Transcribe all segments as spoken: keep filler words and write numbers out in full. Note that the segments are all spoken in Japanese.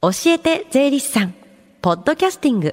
教えて税理士さんポッドキャスティング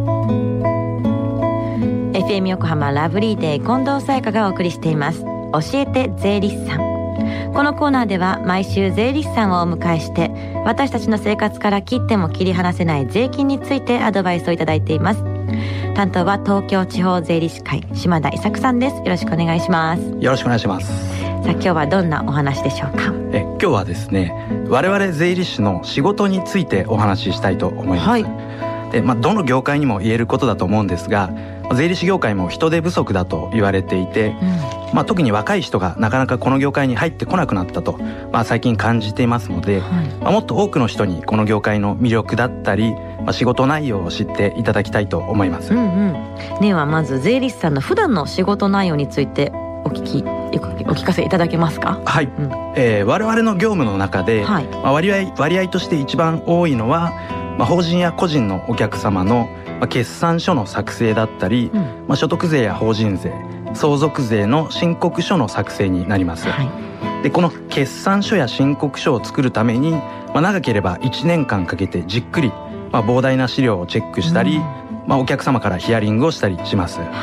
エフエム 横浜ラブリーデー近藤沙耶香がお送りしています。教えて税理士さん。このコーナーでは毎週税理士さんをお迎えして私たちの生活から切っても切り離せない税金についてアドバイスをいただいています。担当は東京地方税理士会島田伊作さんです。よろしくお願いします。 よろしくお願いします。 さあ今日はどんなお話でしょうか。 え今日はですね、我々税理士の仕事についてお話ししたいと思います。はい、で、まあ、どの業界にも言えることだと思うんですが、税理士業界も人手不足だと言われていて、うんまあ、特に若い人がなかなかこの業界に入ってこなくなったと、まあ、最近感じていますので、はいまあ、もっと多くの人にこの業界の魅力だったり、まあ、仕事内容を知っていただきたいと思います。うんうん、 ではまず税理士さんの普段の仕事内容についてお聞きお聞かせいただけますか。 はい、うんえー、我々の業務の中で、はいまあ、割合、割合として一番多いのは、まあ、法人や個人のお客様の決算書の作成だったり、うんまあ、所得税や法人税、相続税の申告書の作成になります。はい、でこの決算書や申告書を作るために、まあ、長ければいちねんかんかけてじっくり、まあ、膨大な資料をチェックしたり、うんまあ、お客様からヒアリングをしたりします。はい、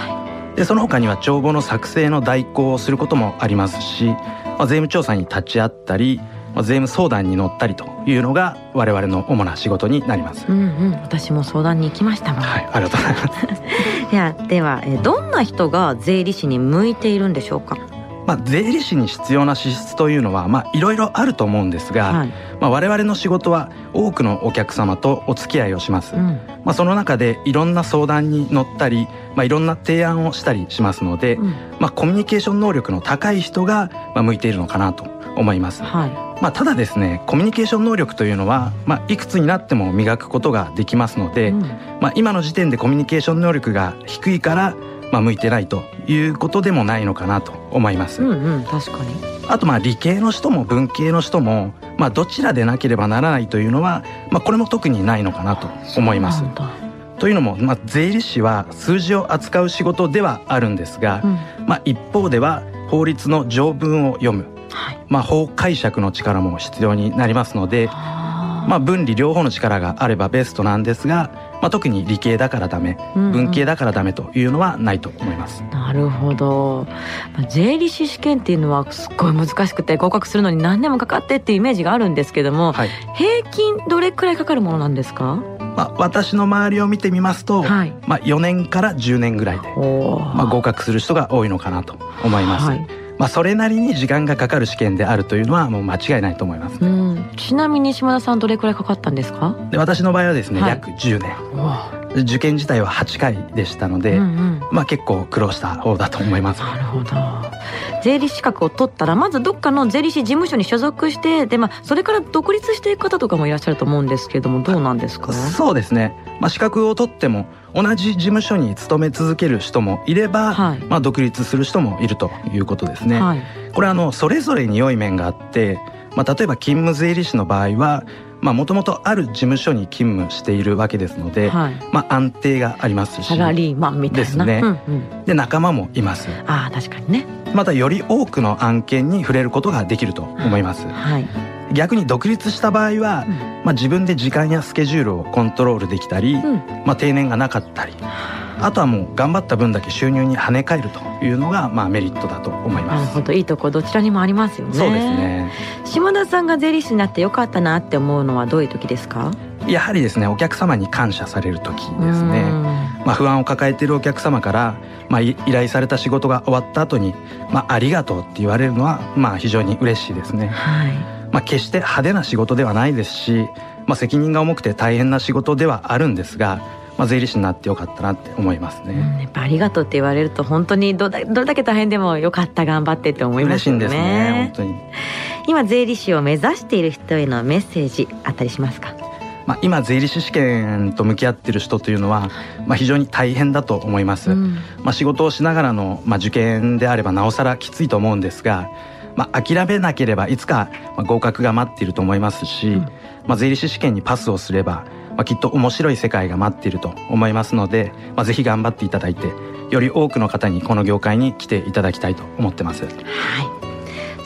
でその他には帳簿の作成の代行をすることもありますし、まあ、税務調査に立ち会ったり、まあ、税務相談に乗ったりというのが我々の主な仕事になります。 うんうん、私も相談に行きましたもん。 はい、ありがとうございますいやではどんな人が税理士に向いているんでしょうか。 まあ、税理士に必要な資質というのは、まあ、いろいろあると思うんですが、はいまあ、我々の仕事は多くのお客様とお付き合いをします。うんまあ、その中でいろんな相談に乗ったり、まあ、いろんな提案をしたりしますので、うんまあ、コミュニケーション能力の高い人がまあ向いているのかなと思います。はいまあ、ただですね、コミュニケーション能力というのは、まあ、いくつになっても磨くことができますので、うんまあ、今の時点でコミュニケーション能力が低いからまあ、向いてないということでもないのかなと思います。 うんうん、確かに。 あとまあ理系の人も文系の人も、まあ、どちらでなければならないというのは、まあ、これも特にないのかなと思います。というのも、まあ、税理士は数字を扱う仕事ではあるんですが、うんまあ、一方では法律の条文を読む、はいまあ、法解釈の力も必要になりますので、まあ、分離両方の力があればベストなんですが、まあ、特に理系だからダメ、うんうん、文系だからダメというのはないと思います。 なるほど。税理士試験っていうのはすっごい難しくて合格するのに何年もかかってっていうイメージがあるんですけども、はい、平均どれくらいかかるものなんですか。 まあ、私の周りを見てみますと、はいまあ、よねんからじゅうねんぐらいで、まあ、合格する人が多いのかなと思います。はいまあ、それなりに時間がかかる試験であるというのはもう間違いないと思います、ねうん、 ちなみに島田さんどれくらいかかったんですか。 で私の場合はですね、はい、約じゅうねん、受験自体ははちかいでしたので、うんうんまあ、結構苦労した方だと思います。 なるほど。税理士資格を取ったらまずどっかの税理士事務所に所属して、で、まあ、それから独立していく方とかもいらっしゃると思うんですけれども、どうなんですか。 そうですね、まあ、資格を取っても同じ事務所に勤め続ける人もいれば、はいまあ、独立する人もいるということですね。はい、これはあのそれぞれに良い面があって、まあ、例えば勤務税理士の場合はもともとある事務所に勤務しているわけですので、はいまあ、安定がありますしサラリーマンみたいなですね、うんうん、で仲間もいます。 あ確かにね。 またより多くの案件に触れることができると思います。はい逆に独立した場合は、うんまあ、自分で時間やスケジュールをコントロールできたり、うんまあ、定年がなかったり、あとはもう頑張った分だけ収入に跳ね返るというのが、まあ、メリットだと思います。 なるほど、いいとこどちらにもありますよね。 そうですね。 島田さんが税理士になってよかったなって思うのはどういう時ですか。 やはりですね、お客様に感謝される時ですね。まあ、不安を抱えているお客様から、まあ、依頼された仕事が終わった後に、まあ、ありがとうって言われるのは、まあ、非常に嬉しいですね。はいまあ、決して派手な仕事ではないですし、まあ、責任が重くて大変な仕事ではあるんですが、まあ、税理士になってよかったなって思いますね。 うん、やっぱありがとうって言われると本当に ど, だどれだけ大変でもよかった頑張ってって思いますよね。 嬉しいんですね、本当に。 今税理士を目指している人へのメッセージあったりしますか。 まあ、今税理士試験と向き合っている人というのは、まあ、非常に大変だと思います。うんまあ、仕事をしながらの、まあ、受験であればなおさらきついと思うんですが、まあ、諦めなければいつか合格が待っていると思いますし、うんまあ、税理士試験にパスをすれば、まあ、きっと面白い世界が待っていると思いますので、まあ、ぜひ頑張っていただいてより多くの方にこの業界に来ていただきたいと思ってます。はい、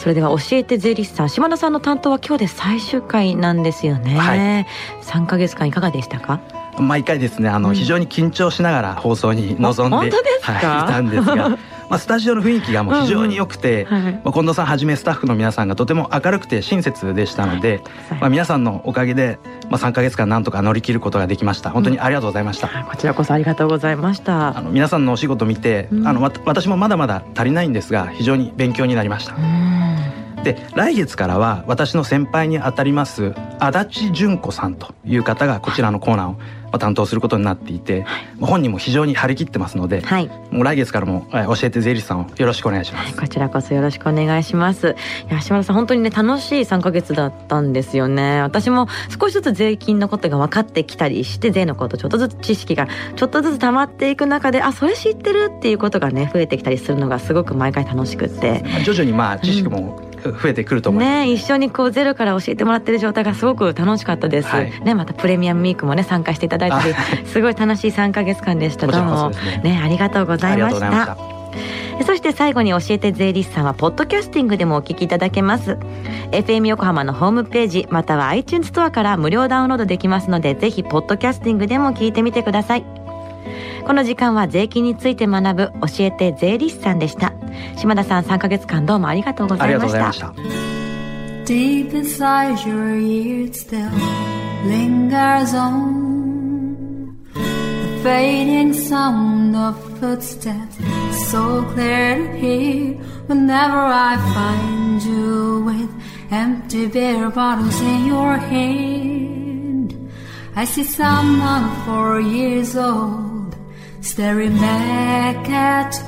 それでは教えて税理士さん、島田さんの担当は今日で最終回なんですよね、はい、さんかげつかんいかがでしたか？ 毎回ですねあの、うん、非常に緊張しながら放送に臨んで、 本当ですか？ はい、いたんですがまあ、スタジオの雰囲気がもう非常に良くて、うんうんはい、まあ、近藤さんはじめスタッフの皆さんがとても明るくて親切でしたので、はい、まあ、皆さんのおかげで、まあ、さんかげつかんなんとか乗り切ることができました。本当にありがとうございました、 うん、こちらこそありがとうございました。 あの皆さんのお仕事を見て、うん、あの私もまだまだ足りないんですが非常に勉強になりました。うん、で来月からは私の先輩にあたります足立純子さんという方がこちらのコーナーを担当することになっていて、はい、本人も非常に張り切ってますので、はい、もう来月からも教えて税理士さんをよろしくお願いします、はい、 こちらこそよろしくお願いします。いや島田さん本当にね楽しいさんかげつだったんですよね。私も少しずつ税金のことが分かってきたりして税のことちょっとずつ知識がちょっとずつ溜まっていく中であそれ知ってるっていうことがね増えてきたりするのがすごく毎回楽しくって、 徐々にまあ知識も、うん増えてくると思います、 ね、一緒にこうゼロから教えてもらってる状態がすごく楽しかったです、はいね、またプレミアムウィークもね参加していただいたりすごい楽しいさんかげつかんでした。どうも、ねね、ありがとうございました。そして最後に教えて税理士さんはポッドキャスティングでもお聞きいただけます。 エフエム 横浜のホームページまたは iTunes ストアから無料ダウンロードできますのでぜひポッドキャスティングでも聞いてみてください。この時間は税金について学ぶ教えて税理士さんでした。島田さんさんかげつかんどうもありがとうございました。ありがとうございました。 Deep inside your ears still lingers on the fading sound of footsteps so clear to hear whenever I find you with empty beer bottles in your hand. I see someone four years old staring back at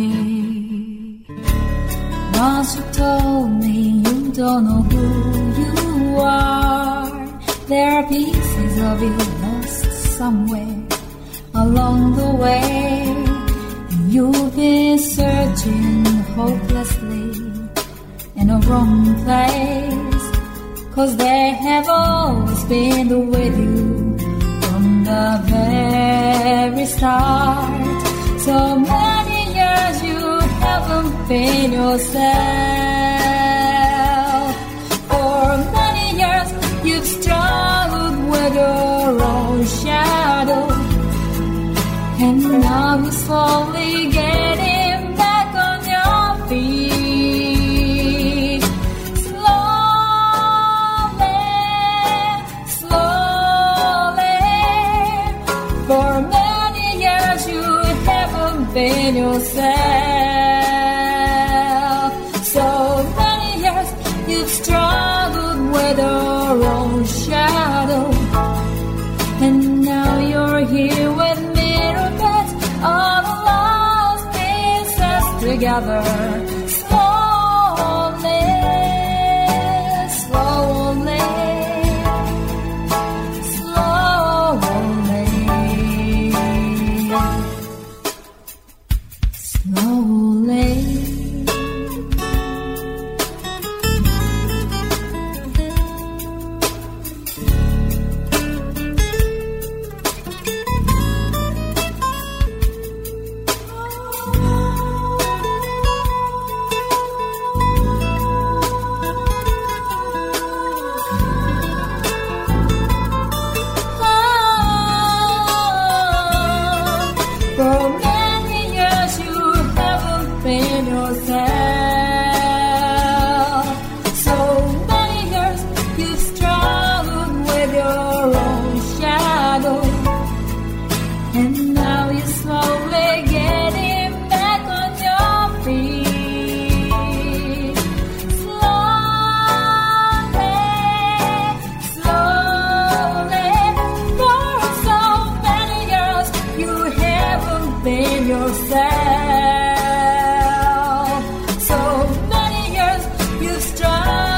me. Once you told me you don't know who you are. There are pieces of you lost somewhere along the way. You've been searching hopelessly in a wrong place, 'cause they have always been with you from the very start. So many years you haven't been yourself. For many years you've struggled with your own shadow, and now you're slowly getting back on your feet. Slowly, slowly. For many years you haven't been yourself. So many years you've struggled with your own shadow, and now you're here with me, all the lost pieces together. Slowly, slowly, slowly, slowly.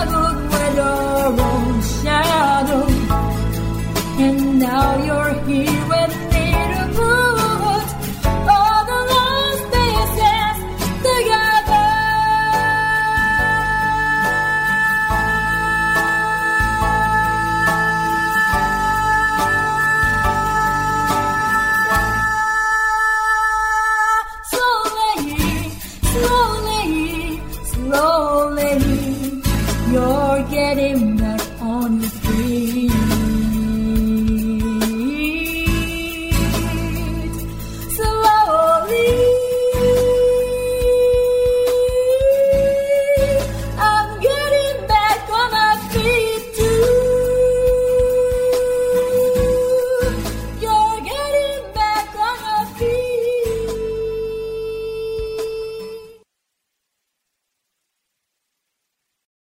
And now you're here